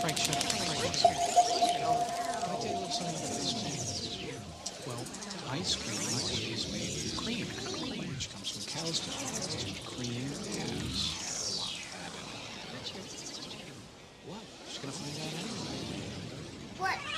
Frank, shut up. Frank, can I tell you a little something about ice cream? Well, ice cream is made with cream, which comes from cow's milk, and cream is what? She's gonna find out anyway. What?